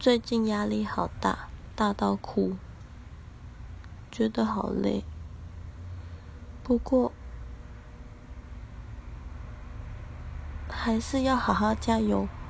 最近压力好大，大到哭，觉得好累。不过还是要好好加油。